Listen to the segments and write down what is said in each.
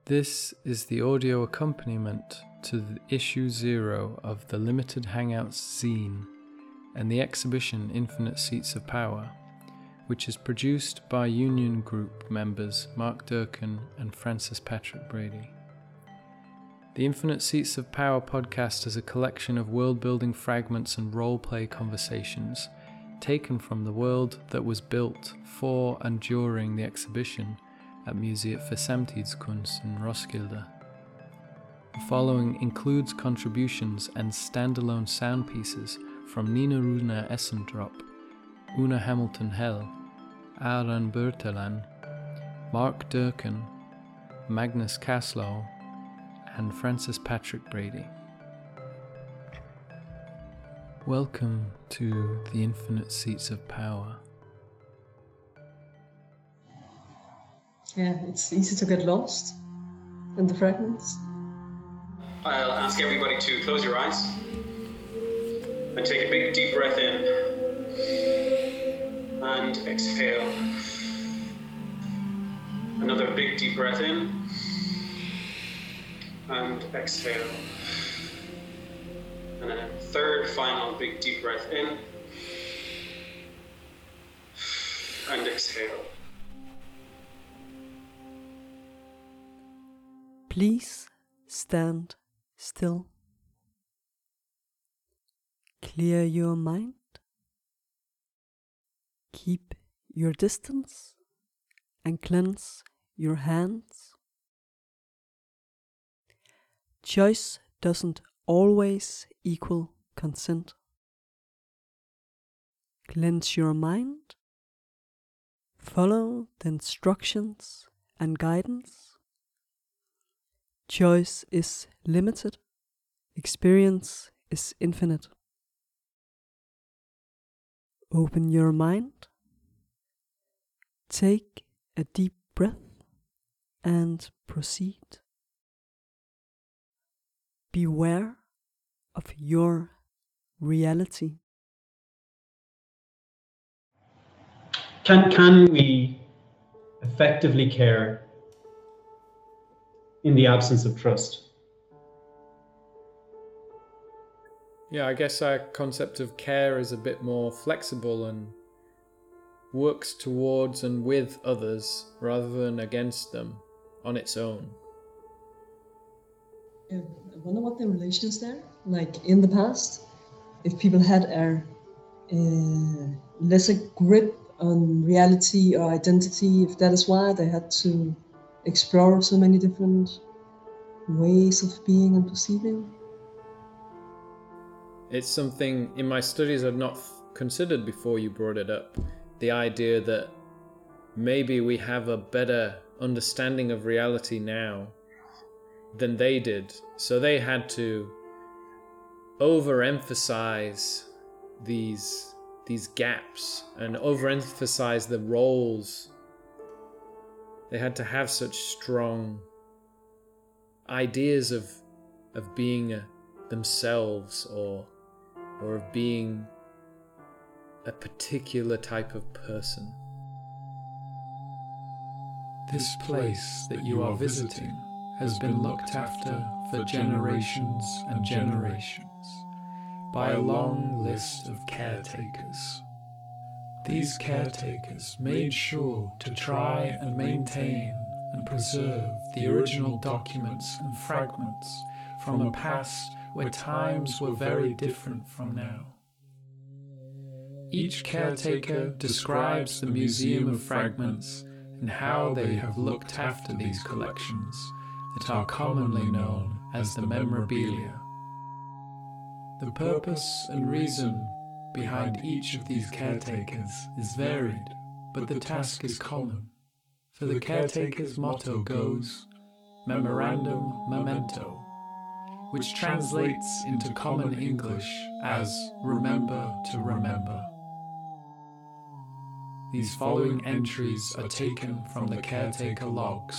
This is the audio accompaniment to the issue 0 of the Limited Hangouts zine and the exhibition Infinite Seats of Power, which is produced by Union Group members Mark Durkin and Francis Patrick Brady. The Infinite Seats of Power podcast is a collection of world-building fragments and role-play conversations taken from the world that was built for and during the exhibition at Museet for Samtidskunst in Roskilde. The following includes contributions and standalone sound pieces from Nina Runa Essendrop, Una Hamilton Hell, Aran Bertelan, Mark Durkin, Magnus Kaslow, and Francis Patrick Brady. Welcome to the Infinite Seats of Power. Yeah, it's easy to get lost in the fragments. I'll ask everybody to close your eyes and take a big deep breath in and exhale. Another big deep breath in and exhale. And then a third final big deep breath in and exhale. Please stand still. Clear your mind. Keep your distance and cleanse your hands. Choice doesn't always equal consent. Cleanse your mind. Follow the instructions and guidance. Choice is limited. Experience is infinite. Open your mind. Take a deep breath and proceed. Beware of your reality. Can we effectively care in the absence of trust? Yeah, I guess our concept of care is a bit more flexible and works towards and with others rather than against them on its own. I wonder what the relation is there. Like in the past, if people had a lesser grip on reality or identity, if that is why they had to explore so many different ways of being and perceiving. It's something in my studies I'd not considered before you brought it up. The idea that maybe we have a better understanding of reality now than they did. So they had to overemphasize these gaps and overemphasize the roles. They had to have such strong ideas of being themselves or of being a particular type of person. This place that you are visiting has been looked after for generations and generations by a long list of caretakers. These caretakers made sure to try and maintain and preserve the original documents and fragments from a past where times were very different from now. Each caretaker describes the Museum of Fragments and how they have looked after these collections that are commonly known as the memorabilia. The purpose and reason behind each of these caretakers is varied, but the task is common. For the caretaker's motto goes, Memorandum Memento, which translates into common English as Remember to Remember. These following entries are taken from the caretaker logs.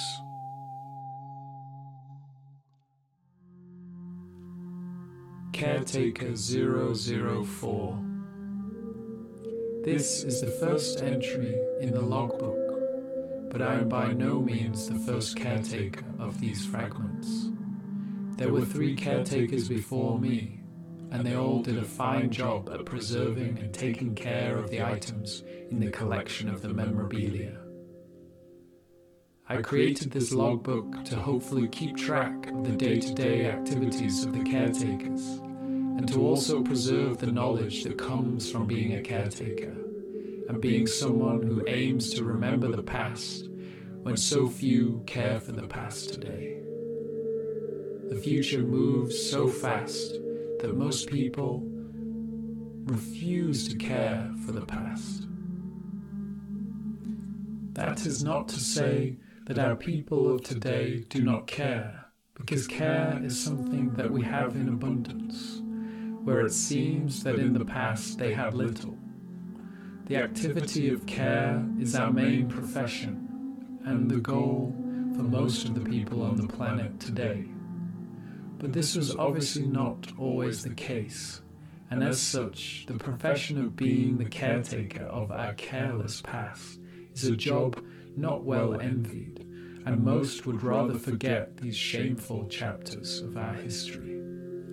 Caretaker 004. This is the first entry in the logbook. but I am by no means the first caretaker of these fragments. There were 3 caretakers before me, and they all did a fine job at preserving and taking care of the items in the collection of the memorabilia. I created this logbook to hopefully keep track of the day-to-day activities of the caretakers, and to also preserve the knowledge that comes from being a caretaker, and being someone who aims to remember the past when so few care for the past today. The future moves so fast that most people refuse to care for the past. That is not to say that our people of today do not care, because care is something that we have in abundance, where it seems that in the past they had little. The activity of care is our main profession and the goal for most of the people on the planet today. But this was obviously not always the case, and as such, the profession of being the caretaker of our careless past is a job not well envied, and most would rather forget these shameful chapters of our history.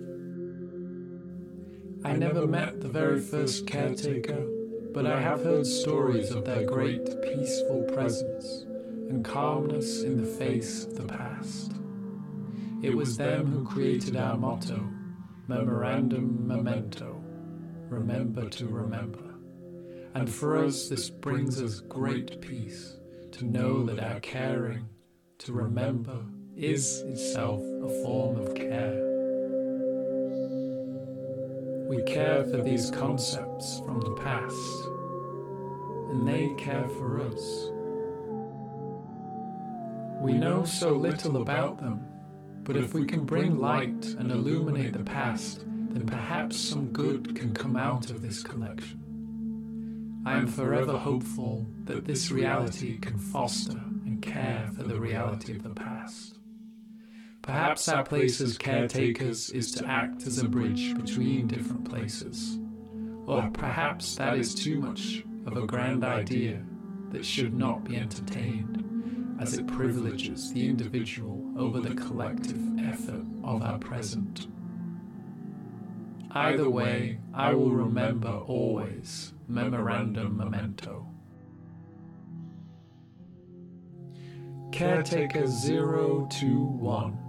I never met the very first caretaker, but I have heard stories of their great peaceful presence and calmness in the face of the past. It was them who created our motto, Memorandum Memento, remember to remember. And for us this brings us great peace, to know that our caring, to remember, is itself a form of care. We care for these concepts from the past, and they care for us. We know so little about them, but if we can bring light and illuminate the past, then perhaps some good can come out of this collection. I am forever hopeful that this reality can foster and care for the reality of the past. Perhaps our place as caretakers is to act as a bridge between different places, or perhaps that is too much of a grand idea that should not be entertained, as it privileges the individual over the collective effort of our present. Either way, I will remember always, Memorandum Memento. Caretaker 021.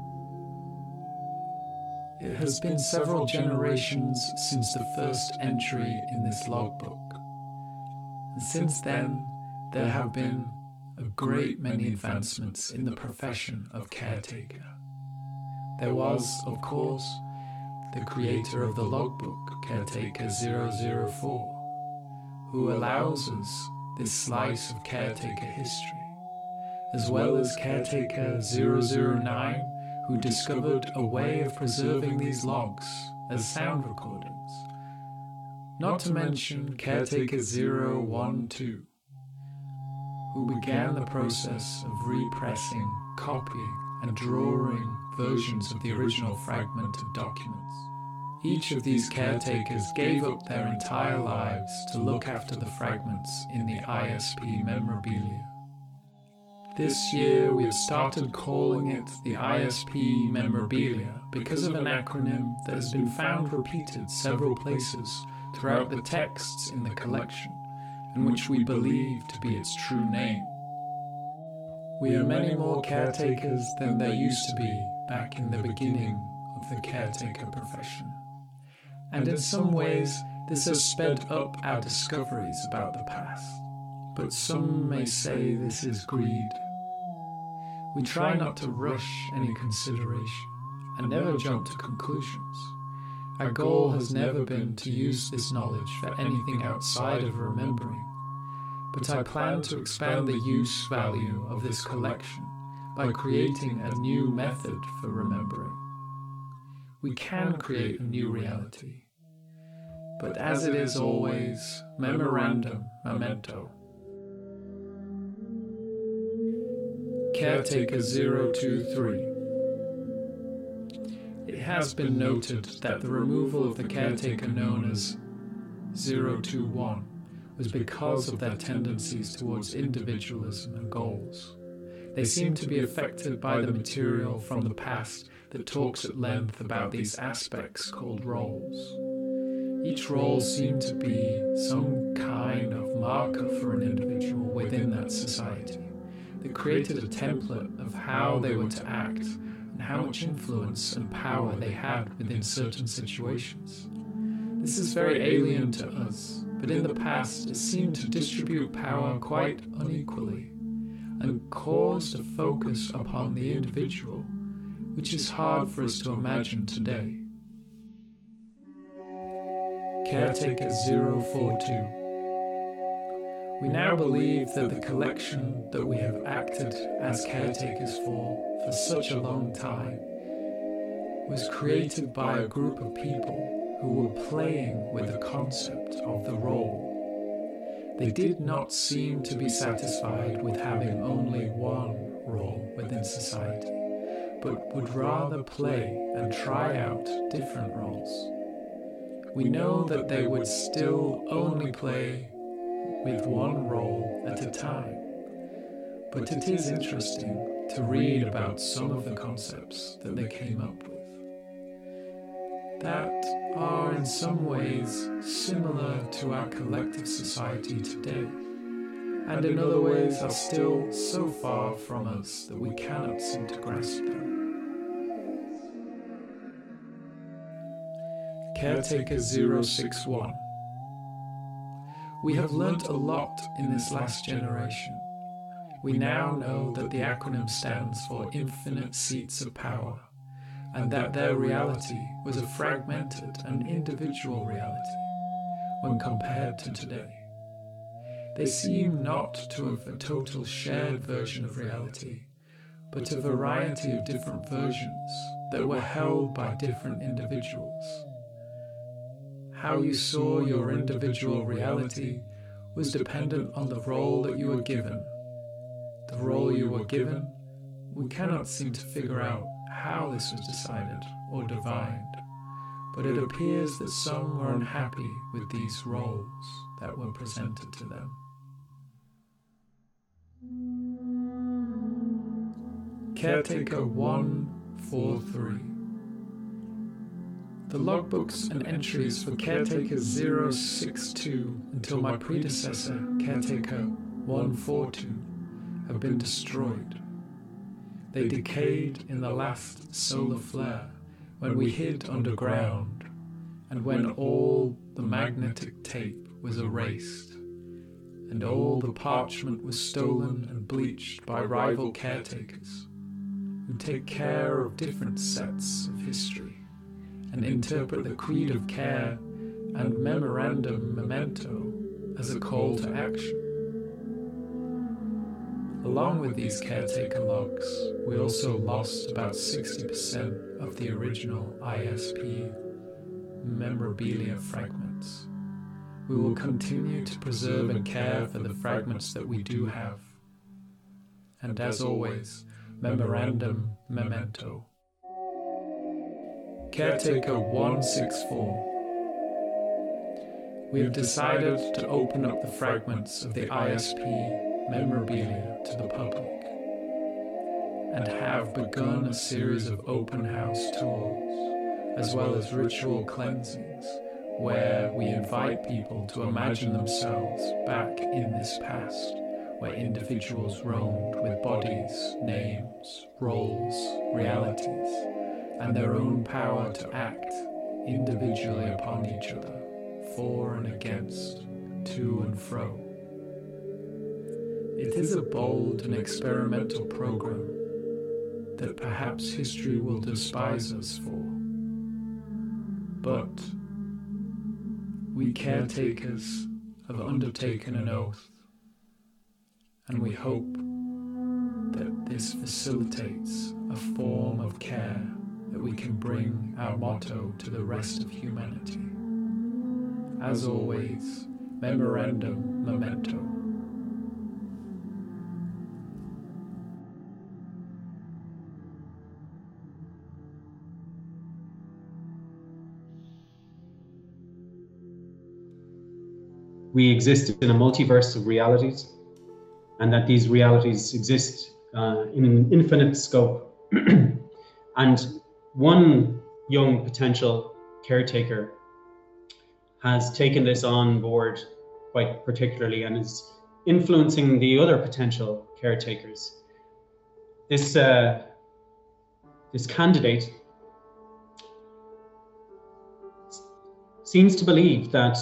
It has been several generations since the first entry in this logbook, and since then there have been a great many advancements in the profession of caretaker. There was, of course, the creator of the logbook, Caretaker 004, who allows us this slice of caretaker history, as well as Caretaker 009, who discovered a way of preserving these logs as sound recordings, not to mention Caretaker 012, who began the process of repressing, copying, and drawing versions of the original fragmented documents. Each of these caretakers gave up their entire lives to look after the fragments in the ISP memorabilia. This year we have started calling it the ISP memorabilia because of an acronym that has been found repeated several places throughout the texts in the collection, and which we believe to be its true name. We are many more caretakers than there used to be back in the beginning of the caretaker profession. And in some ways, this has sped up our discoveries about the past. But some may say this is greed. We try not to rush any consideration and never jump to conclusions. Our goal has never been to use this knowledge for anything outside of remembering, but I plan to expand the use value of this collection by creating a new method for remembering. We can create a new reality, but as it is always, Memorandum Memento. Caretaker 023. It has been noted that the removal of the caretaker known as 021 was because of their tendencies towards individualism and goals. They seem to be affected by the material from the past that talks at length about these aspects called roles. Each role seemed to be some kind of marker for an individual within that society that created a template of how they were to act and how much influence and power they had within certain situations. This is very alien to us, but in the past it seemed to distribute power quite unequally and caused a focus upon the individual, which is hard for us to imagine today. Caretaker 042. We now believe that the collection that we have acted as caretakers for such a long time was created by a group of people who were playing with the concept of the role. They did not seem to be satisfied with having only one role within society, but would rather play and try out different roles. We know that they would still only play with one role at a time, but it is interesting to read about some of the concepts that they came up with that are in some ways similar to our collective society today, and in other ways are still so far from us that we cannot seem to grasp them. Caretaker 061. We have learnt a lot in this last generation. We now know that the acronym stands for Infinite Seats of Power, and that their reality was a fragmented and individual reality when compared to today. They seem not to have a total shared version of reality, but a variety of different versions that were held by different individuals. How you saw your individual reality was dependent on the role that you were given. The role you were given, we cannot seem to figure out how this was decided or divined, but it appears that some were unhappy with these roles that were presented to them. Caretaker 143. The logbooks and entries for Caretaker 062 until my predecessor, Caretaker 142, have been destroyed. They decayed in the last solar flare when we hid underground and when all the magnetic tape was erased and all the parchment was stolen and bleached by rival caretakers who take care of different sets of history and interpret the Creed of Care and Memorandum Memento as a call to action. Along with these caretaker logs, we also lost about 60% of the original ISP memorabilia fragments. We will continue to preserve and care for the fragments that we do have. And as always, Memorandum Memento. Caretaker 164. We have decided to open up the fragments of the ISP memorabilia to the public and have begun a series of open house tours as well as ritual cleansings where we invite people to imagine themselves back in this past where individuals roamed with bodies, names, roles, realities, and their own power to act individually upon each other, for and against, to and fro. It is a bold and experimental program that perhaps history will despise us for. But we caretakers have undertaken an oath, and we hope that this facilitates a form of care that we can bring our motto to the rest of humanity. As always, Memorandum Memento. we exist in a multiverse of realities, and that these realities exist in an infinite scope. And one young potential caretaker has taken this on board quite particularly and is influencing the other potential caretakers. This candidate seems to believe that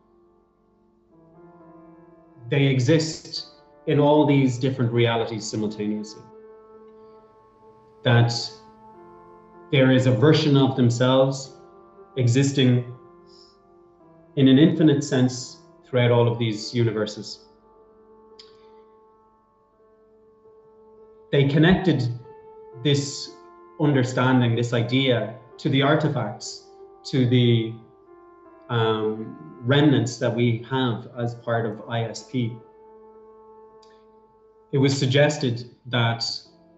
they exist in all these different realities simultaneously. That there is a version of themselves existing in an infinite sense throughout all of these universes. They connected this understanding, this idea, to the artifacts, to the remnants that we have as part of ISP. It was suggested that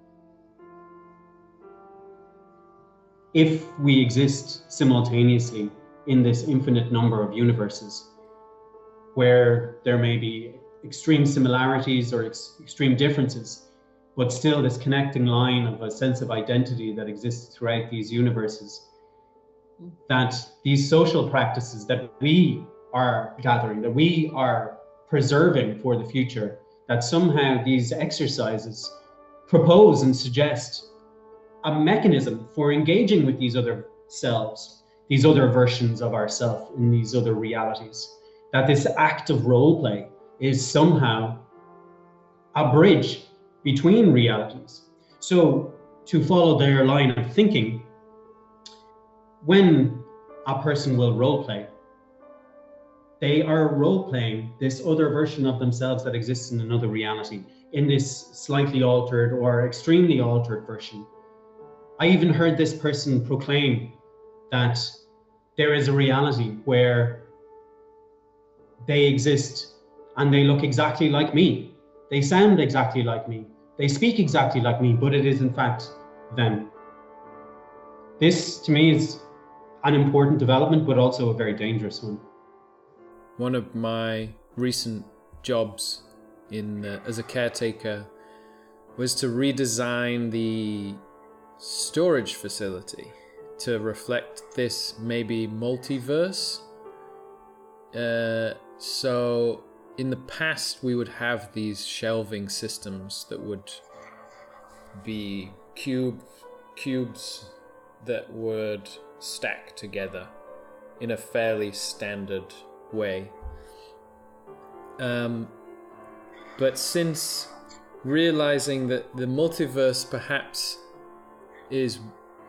if we exist simultaneously in this infinite number of universes, where there may be extreme similarities or extreme differences, but still this connecting line of a sense of identity that exists throughout these universes, that these social practices that we are gathering, that we are preserving for the future, that somehow these exercises propose and suggest a mechanism for engaging with these other selves, these other versions of ourselves in these other realities, that this act of role play is somehow a bridge between realities. So to follow their line of thinking, when a person will role play, they are role playing this other version of themselves that exists in another reality, in this slightly altered or extremely altered version. I even heard this person proclaim that there is a reality where they exist and they look exactly like me. They sound exactly like me. They speak exactly like me, but it is in fact them. This to me is an important development, but also a very dangerous one. One of my recent jobs as a caretaker was to redesign the storage facility to reflect this maybe multiverse. So in the past we would have these shelving systems that would be cubes that would stack together in a fairly standard way. But since realizing that the multiverse perhaps is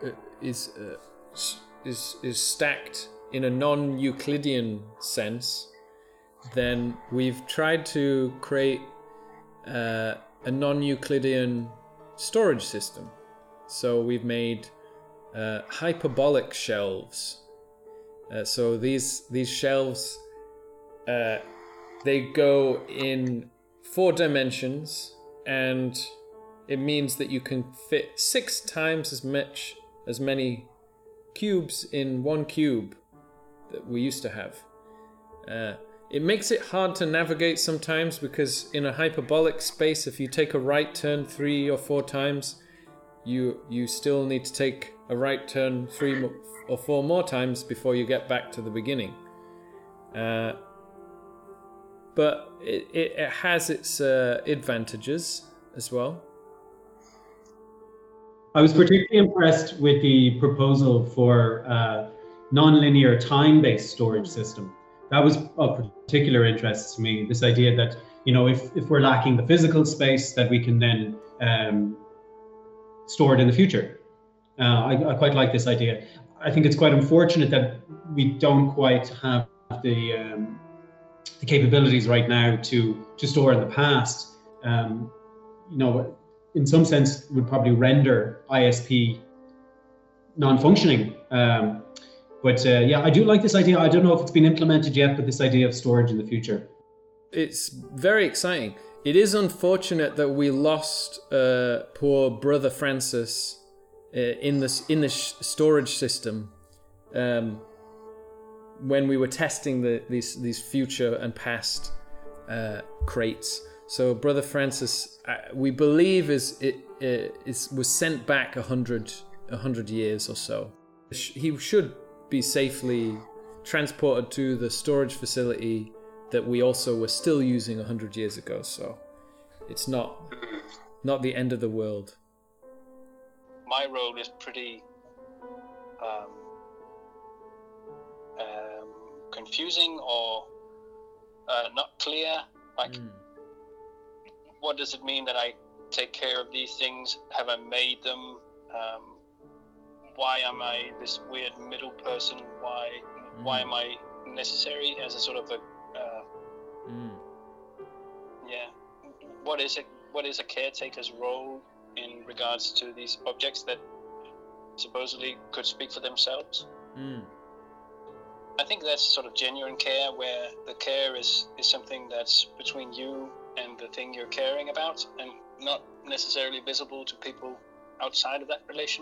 stacked in a non-Euclidean sense, then we've tried to create a non-Euclidean storage system. So we've made hyperbolic shelves. So these shelves, they go in 4 dimensions, and it means that you can fit 6 times as many cubes in one cube that we used to have. It makes it hard to navigate sometimes, because in a hyperbolic space, if you take a right turn 3 or 4 times, you still need to take a right turn 3 or 4 more times before you get back to the beginning. But it has its advantages as well. I was particularly impressed with the proposal for non-linear time-based storage system. That was of particular interest to me. This idea that, if we're lacking the physical space, that we can then store it in the future. I quite like this idea. I think it's quite unfortunate that we don't quite have the capabilities right now to store in the past. In some sense, would probably render ISP non-functioning. But I do like this idea. I don't know if it's been implemented yet, but this idea of storage in the future. It's very exciting. It is unfortunate that we lost poor brother Francis in the storage system. when we were testing these future and past crates. So Brother Francis, we believe was sent back 100 years or so. He should be safely transported to the storage facility that we also were still using 100 years ago. So it's not the end of the world. My role is pretty confusing or not clear. Like, what does it mean that I take care of these things? Have I made them? Why am I this weird middle person? Why am I necessary as a sort of a What is a caretaker's role in regards to these objects that supposedly could speak for themselves? I think that's sort of genuine care, where the care is something that's between you and the thing you're caring about, and not necessarily visible to people outside of that relation.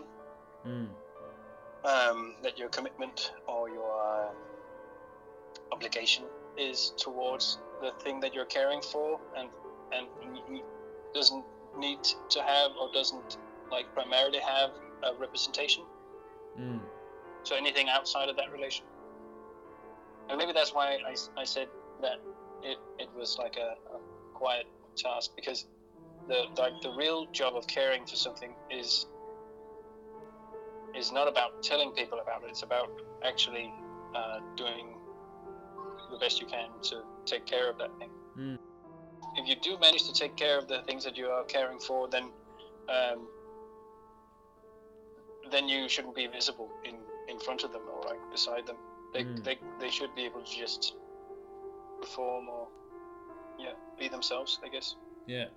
That your commitment or your obligation is towards the thing that you're caring for, and doesn't need to have, or doesn't like primarily have, a representation. So anything outside of that relation. And maybe that's why I said that it was like a quiet task, because the real job of caring for something is not about telling people about it. It's about actually doing the best you can to take care of that thing. If you do manage to take care of the things that you are caring for, then you shouldn't be visible in front of them or like beside them. They should be able to just perform or be themselves, I guess. Yeah.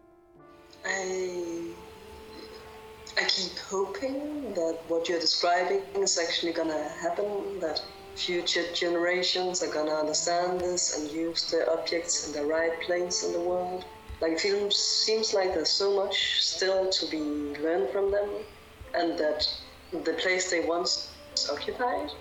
I keep hoping that what you're describing is actually gonna happen, that future generations are gonna understand this and use the objects in the right place in the world. Like, it seems like there's so much still to be learned from them, and that the place they once occupied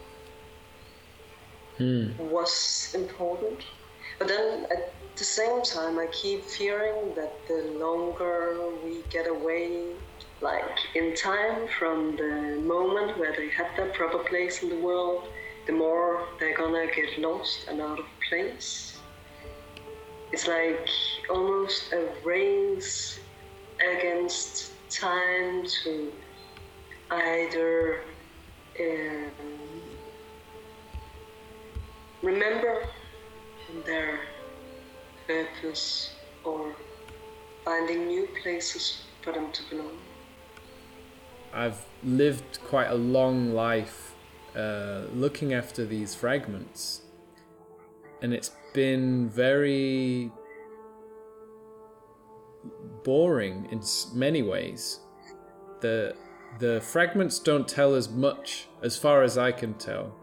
was important. But then at the same time, I keep fearing that the longer we get away, like in time, from the moment where they had their proper place in the world, the more they're gonna get lost and out of place. It's like almost a race against time to either remember their purpose or finding new places for them to belong. I've lived quite a long life looking after these fragments, and it's been very boring in many ways. The fragments don't tell us much, as far as I can tell.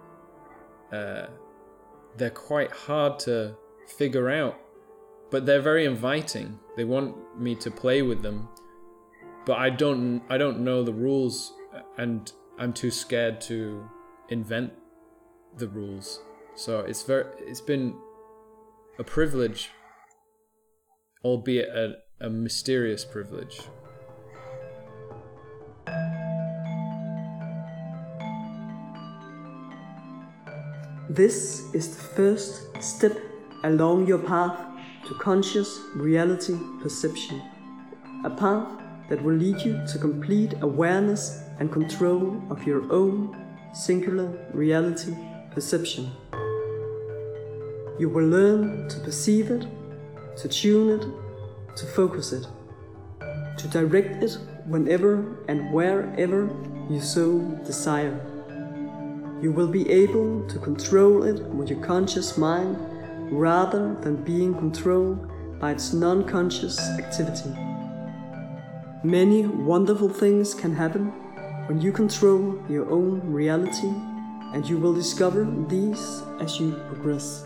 They're quite hard to figure out, but they're very inviting. They want me to play with them, but I don't know the rules, and I'm too scared to invent the rules. So it's been a privilege, albeit a mysterious privilege. This is the first step along your path to conscious reality perception, a path that will lead you to complete awareness and control of your own singular reality perception. You will learn to perceive it, to tune it, to focus it, to direct it whenever and wherever you so desire. You will be able to control it with your conscious mind rather than being controlled by its non-conscious activity. Many wonderful things can happen when you control your own reality, and you will discover these as you progress.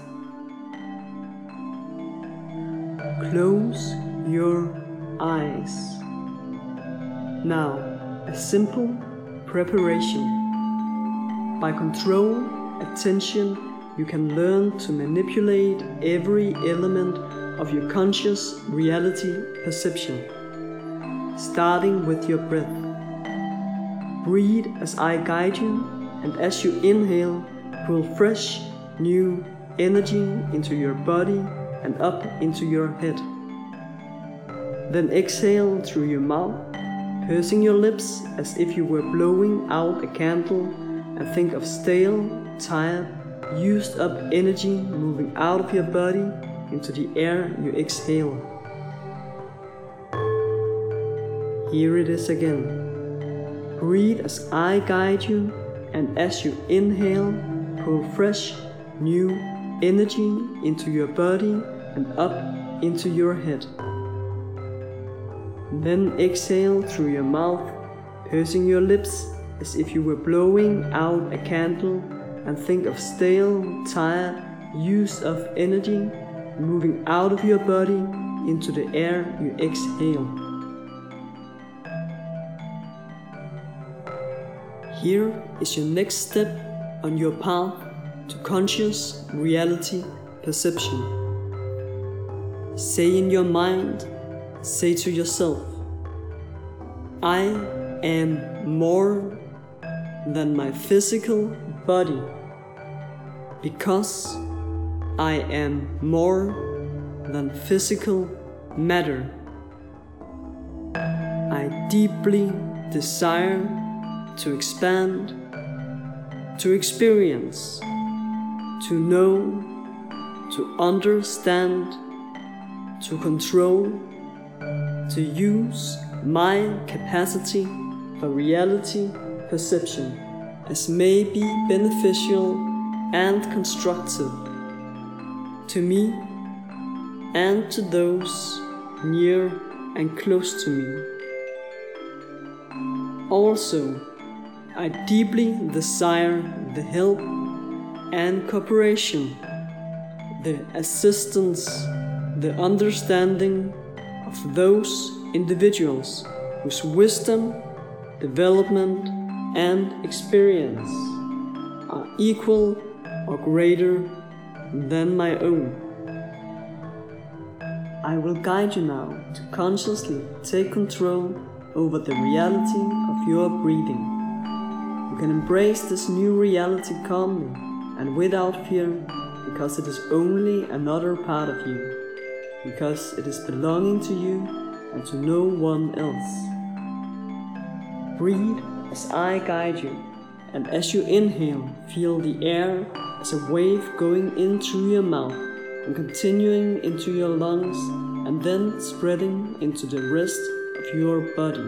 Close your eyes. Now, a simple preparation. By control, attention, you can learn to manipulate every element of your conscious reality perception, starting with your breath. Breathe as I guide you, and as you inhale, pull fresh, new energy into your body and up into your head. Then exhale through your mouth, pursing your lips as if you were blowing out a candle, and think of stale, tired, used up energy moving out of your body into the air you exhale. Here it is again. Breathe as I guide you, and as you inhale, pull fresh, new energy into your body and up into your head. Then exhale through your mouth, pursing your lips as if you were blowing out a candle, and think of stale, tired, used up energy moving out of your body into the air you exhale. Here is your next step on your path to conscious reality perception. Say in your mind, say to yourself, I am more than my physical body, because I am more than physical matter. I deeply desire to expand, to experience, to know, to understand, to control, to use my capacity for reality perception as may be beneficial and constructive to me and to those near and close to me. Also, I deeply desire the help and cooperation, the assistance, the understanding of those individuals whose wisdom, development, and experience are equal or greater than my own. I will guide you now to consciously take control over the reality of your breathing. You can embrace this new reality calmly and without fear, because it is only another part of you, because it is belonging to you and to no one else. Breathe as I guide you, and as you inhale, feel the air as a wave going in through your mouth and continuing into your lungs and then spreading into the rest of your body.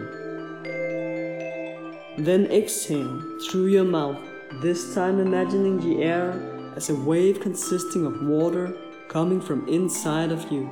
Then exhale through your mouth, this time imagining the air as a wave consisting of water coming from inside of you.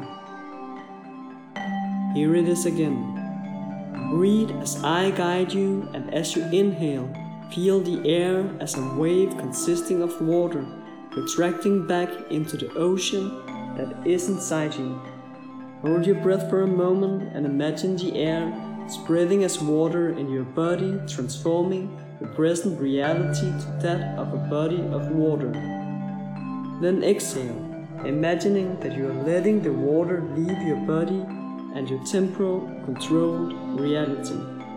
Here it is again. Breathe as I guide you, and as you inhale, feel the air as a wave consisting of water retracting back into the ocean that is inside you. Hold your breath for a moment and imagine the air spreading as water in your body, transforming the present reality to that of a body of water. Then exhale, imagining that you are letting the water leave your body and your temporal controlled reality.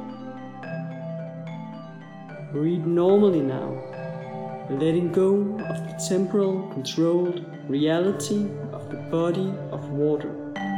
Breathe normally now, letting go of the temporal controlled reality of the body of water.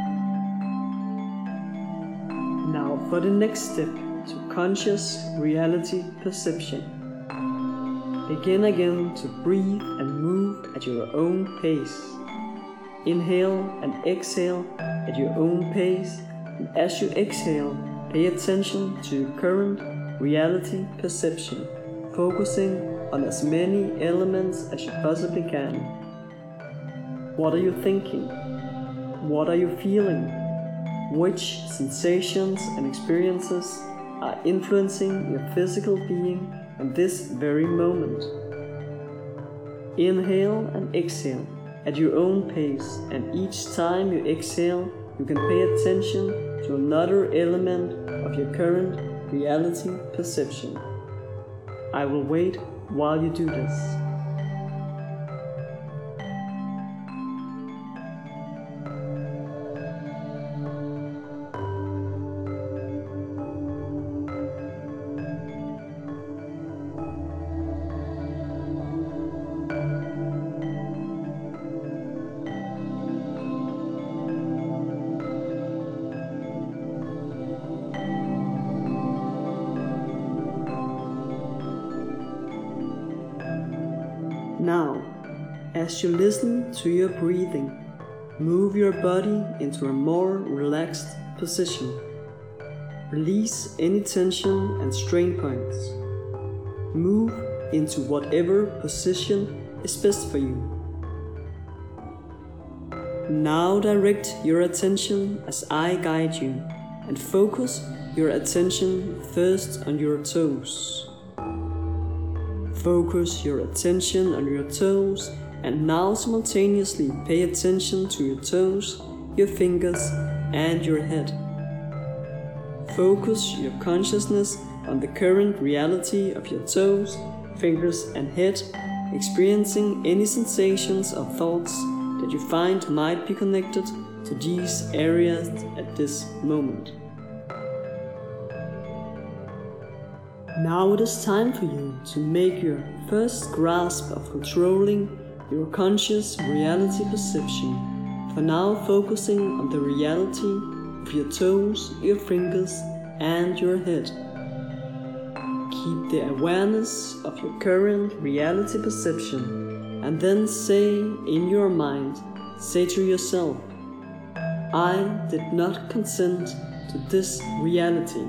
Now for the next step to conscious reality perception. Begin again to breathe and move at your own pace. Inhale and exhale at your own pace, and as you exhale, pay attention to your current reality perception, focusing on as many elements as you possibly can. What are you thinking? What are you feeling? Which sensations and experiences are influencing your physical being in this very moment? Inhale and exhale at your own pace, and each time you exhale, you can pay attention to another element of your current reality perception. I will wait while you do this. Now, as you listen to your breathing, move your body into a more relaxed position. Release any tension and strain points. Move into whatever position is best for you. Now direct your attention as I guide you, and focus your attention first on your toes. Focus your attention on your toes, and now simultaneously pay attention to your toes, your fingers, and your head. Focus your consciousness on the current reality of your toes, fingers, and head, experiencing any sensations or thoughts that you find might be connected to these areas at this moment. Now it is time for you to make your first grasp of controlling your conscious reality perception. For now, focusing on the reality of your toes, your fingers, and your head. Keep the awareness of your current reality perception, and then say in your mind, say to yourself, I did not consent to this reality.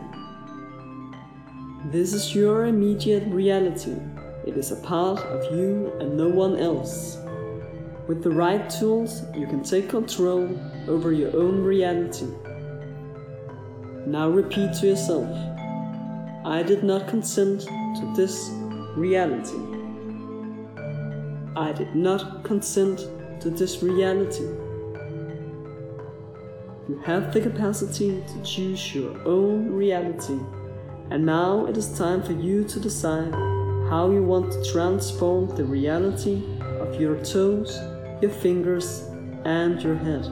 This is your immediate reality. It is a part of you and no one else. With the right tools, you can take control over your own reality. Now repeat to yourself, I did not consent to this reality. I did not consent to this reality. You have the capacity to choose your own reality. And now it is time for you to decide how you want to transform the reality of your toes, your fingers, and your head.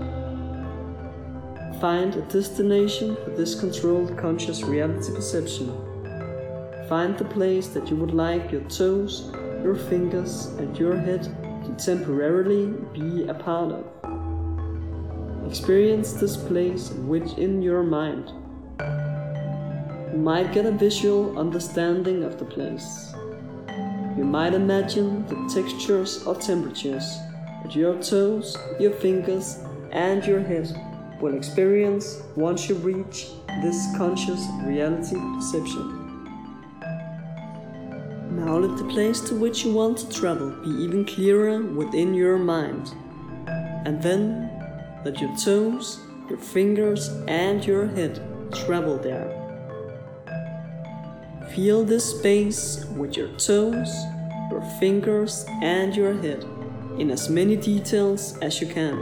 Find a destination for this controlled conscious reality perception. Find the place that you would like your toes, your fingers, and your head to temporarily be a part of. Experience this place within your mind. You might get a visual understanding of the place. You might imagine the textures or temperatures that your toes, your fingers, and your head will experience once you reach this conscious reality perception. Now let the place to which you want to travel be even clearer within your mind. And then let your toes, your fingers, and your head travel there. Feel this space with your toes, your fingers, and your head in as many details as you can.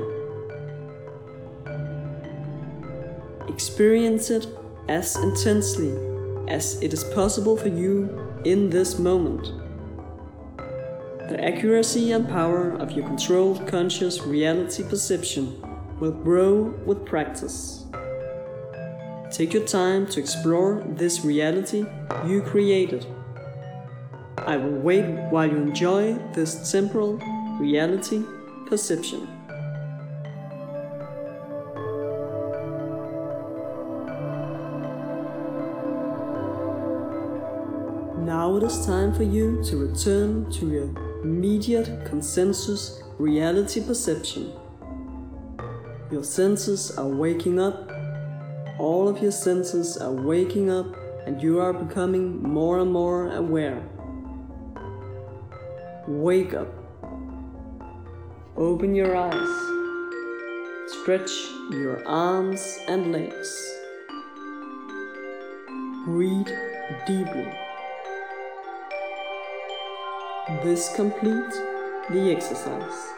Experience it as intensely as it is possible for you in this moment. The accuracy and power of your controlled conscious reality perception will grow with practice. Take your time to explore this reality you created. I will wait while you enjoy this temporal reality perception. Now it is time for you to return to your immediate consensus reality perception. Your senses are waking up. All of your senses are waking up, and you are becoming more and more aware. Wake up. Open your eyes. Stretch your arms and legs. Breathe deeply. This completes the exercise.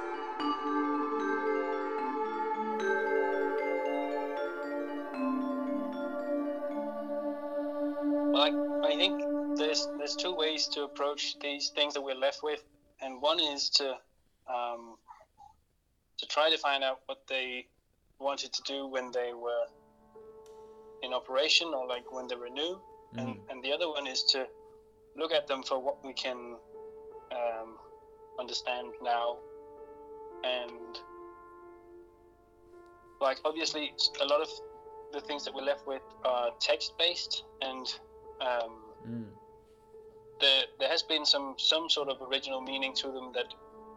I think there's two ways to approach these things that we're left with, and one is to try to find out what they wanted to do when they were in operation, or like when they were new, and the other one is to look at them for what we can understand now. And like obviously a lot of the things that we're left with are text-based, and there has been some sort of original meaning to them that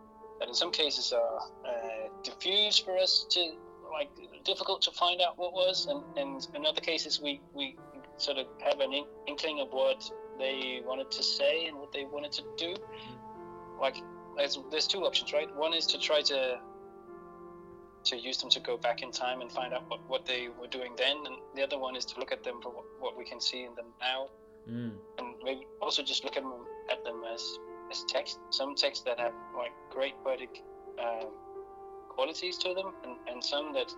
that in some cases are diffuse for us to, like, difficult to find out what was, and in other cases we sort of have an inkling of what they wanted to say and what they wanted to do. Like, there's two options, right? One is to try to use them to go back in time and find out what they were doing then, and the other one is to look at them for what we can see in them now, and maybe also just look at them as text. Some texts that have like great poetic qualities to them, and some that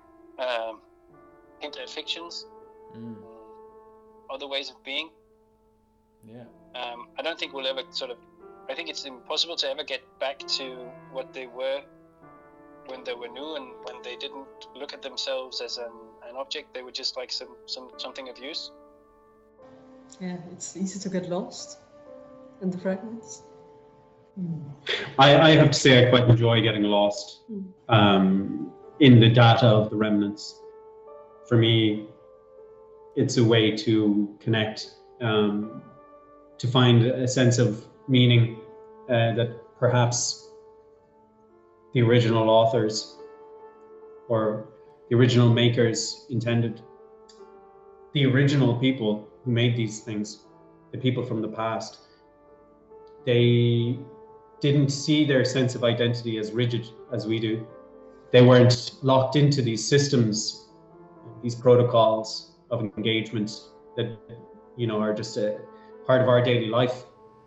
hint at fictions, other ways of being. Yeah. I don't think we'll ever I think it's impossible to ever get back to what they were when they were new, and when they didn't look at themselves as an object. They were just like something of use. Yeah, it's easy to get lost in the fragments. I have to say I quite enjoy getting lost in the data of the remnants. For me, it's a way to connect, to find a sense of meaning that perhaps the original authors or the original makers intended. The original people who made these things, the people from the past, they didn't see their sense of identity as rigid as we do. They weren't locked into these systems, these protocols of engagement that, are just a part of our daily life.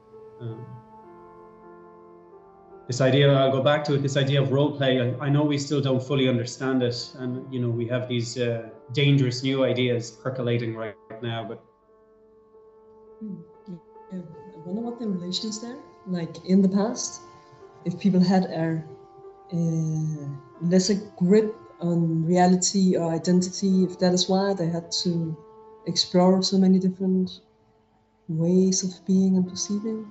This idea, I'll go back to it, this idea of role play, I know we still don't fully understand it, and we have these dangerous new ideas percolating right now, but I wonder what the relation is there. Like in the past, if people had a lesser grip on reality or identity, if that is why they had to explore so many different ways of being and perceiving.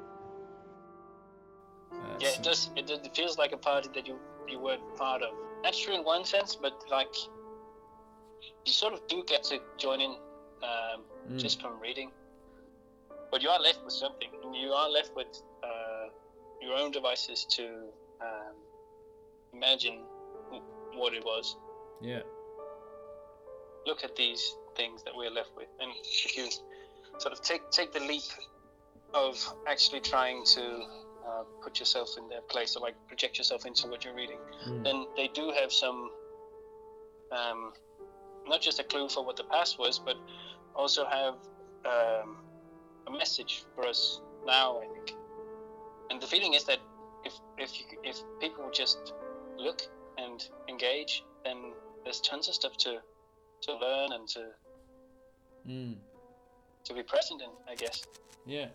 Yeah, it does. It feels like a party that you weren't part of. That's true in one sense, but like you sort of do get to join in just from reading. But you are left with something. You are left with your own devices to imagine what it was. Yeah. Look at these things that we're left with, and if you sort of take the leap of actually trying to put yourself in their place, or like project yourself into what you're reading, then they do have some, not just a clue for what the past was, but also have a message for us now, I think. And the feeling is that if people just look and engage, then there's tons of stuff to learn and to be present in, I guess. Yeah.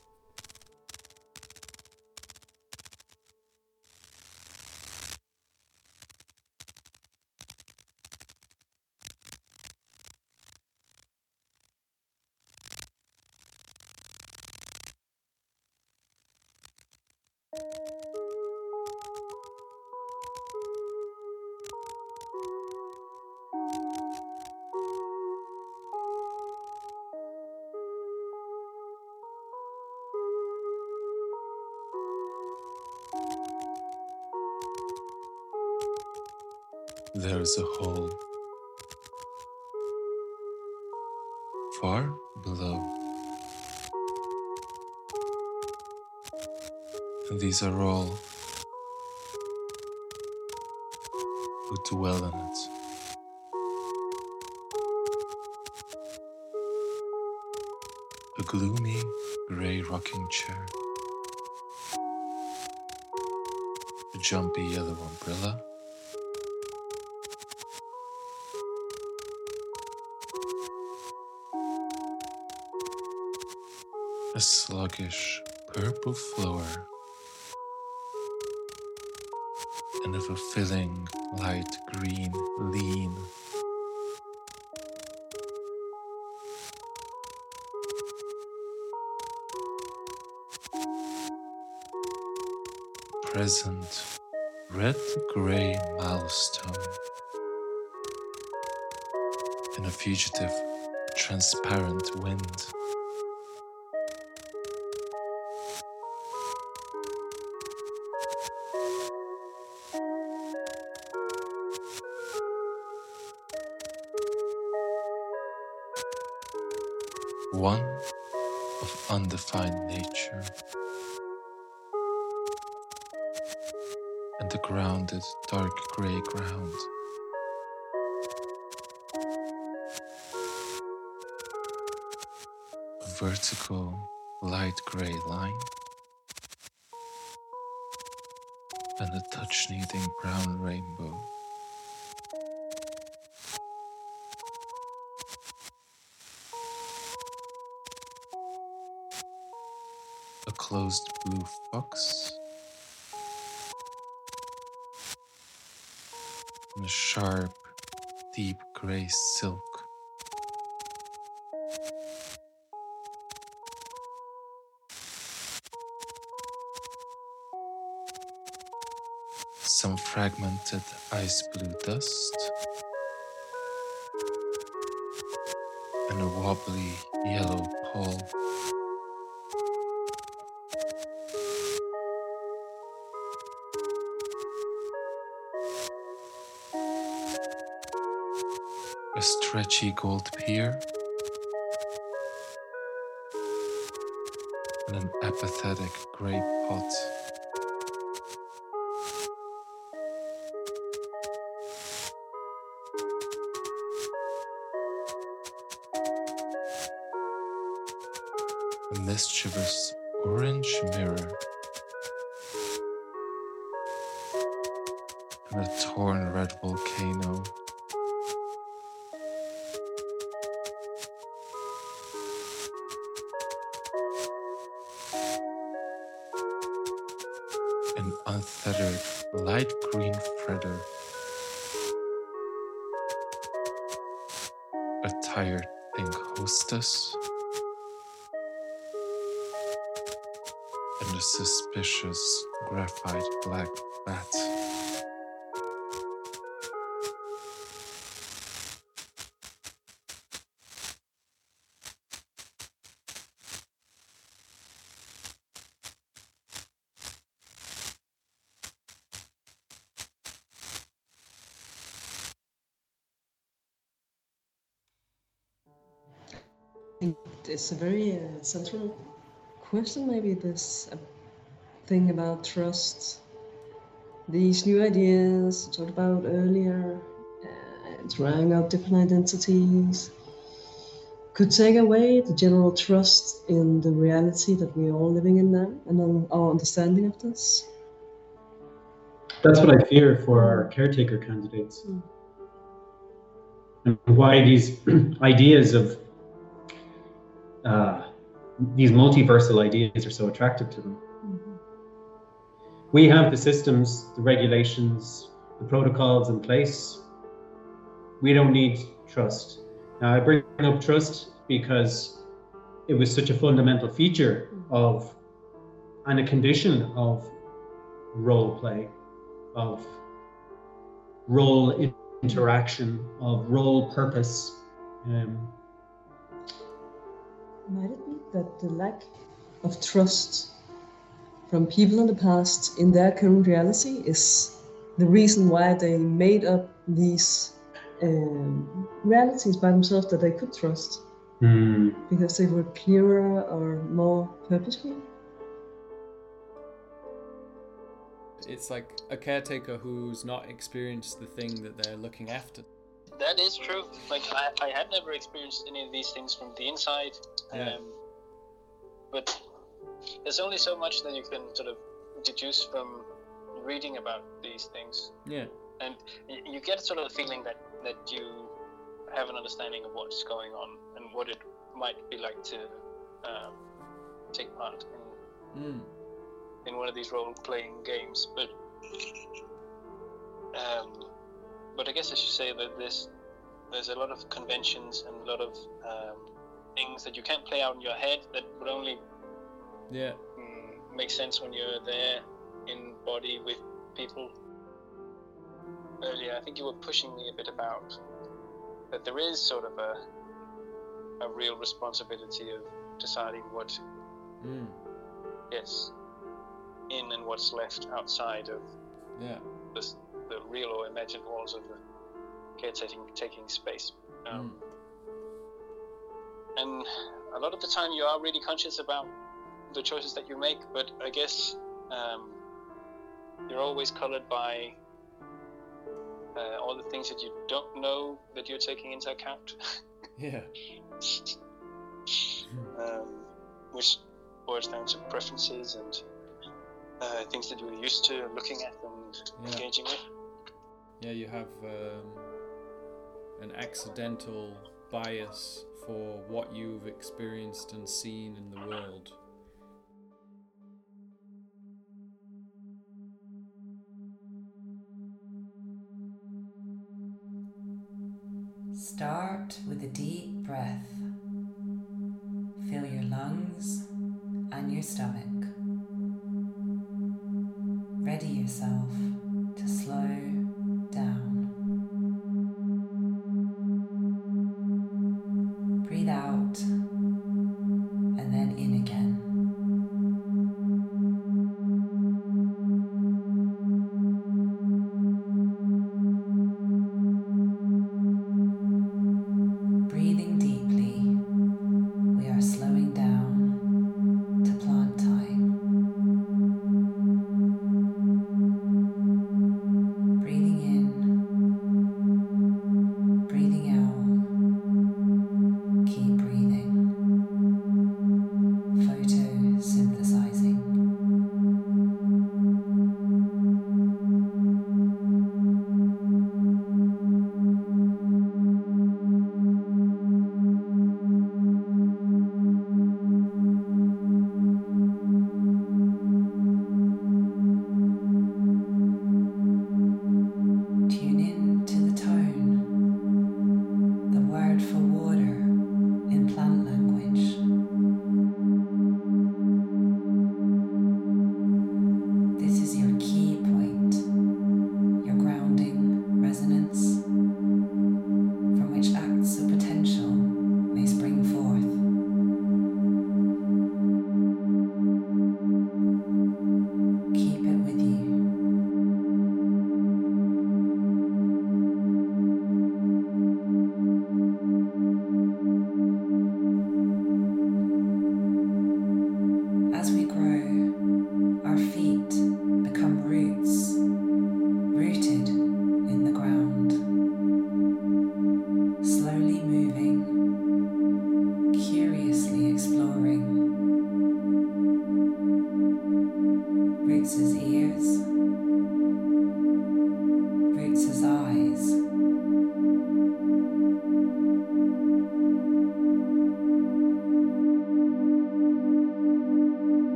There is a hole far below, and these are all who dwell in it. A gloomy grey rocking chair, a jumpy yellow umbrella, a sluggish purple flower, and a fulfilling light green lean. Present red-grey milestone, and a fugitive transparent wind. one of undefined nature, and the grounded dark grey ground. A vertical light grey line, and a touch-needing brown rainbow. A closed blue fox, and a sharp, deep grey silk. Some fragmented ice blue dust, and a wobbly yellow pole. A stretchy gold pier, and an apathetic grey pot. A mischievous orange mirror, and a torn red volcano. An unfettered light green fredder, a tired pink hostess, and a suspicious graphite black bat. It's a very central question, maybe this thing about trust. These new ideas talked about earlier, trying out different identities, could take away the general trust in the reality that we're all living in now and on our understanding of this. That's what I fear for our caretaker candidates. And why these ideas of these multiversal ideas are so attractive to them. We have the systems, the regulations, the protocols in place. We don't need trust. Now, I bring up trust because it was such a fundamental feature of, and a condition of, role play, of role interaction, of role purpose. Might it be that the lack of trust from people in the past in their current reality is the reason why they made up these realities by themselves that they could trust? Because they were clearer or more purposeful? It's like a caretaker who's not experienced the thing that they're looking after. That is true. Like, I had never experienced any of these things from the inside. Yeah. But there's only so much that you can sort of deduce from reading about these things. Yeah. And you get sort of the feeling that you have an understanding of what's going on and what it might be like to take part in one of these role-playing games. But I guess I should say that there's a lot of conventions and a lot of things that you can't play out in your head that would only make sense when you're there in body with people. Earlier, I think you were pushing me a bit about that there is sort of a real responsibility of deciding what gets in and what's left outside of the real or imagined walls of the caretaking space. And a lot of the time you are really conscious about the choices that you make, but I guess you're always colored by all the things that you don't know that you're taking into account. Yeah. Which boils down to preferences and things that you're used to looking at and engaging with. Yeah, you have an accidental bias for what you've experienced and seen in the world. Start with a deep breath. Fill your lungs and your stomach. Ready yourself to slow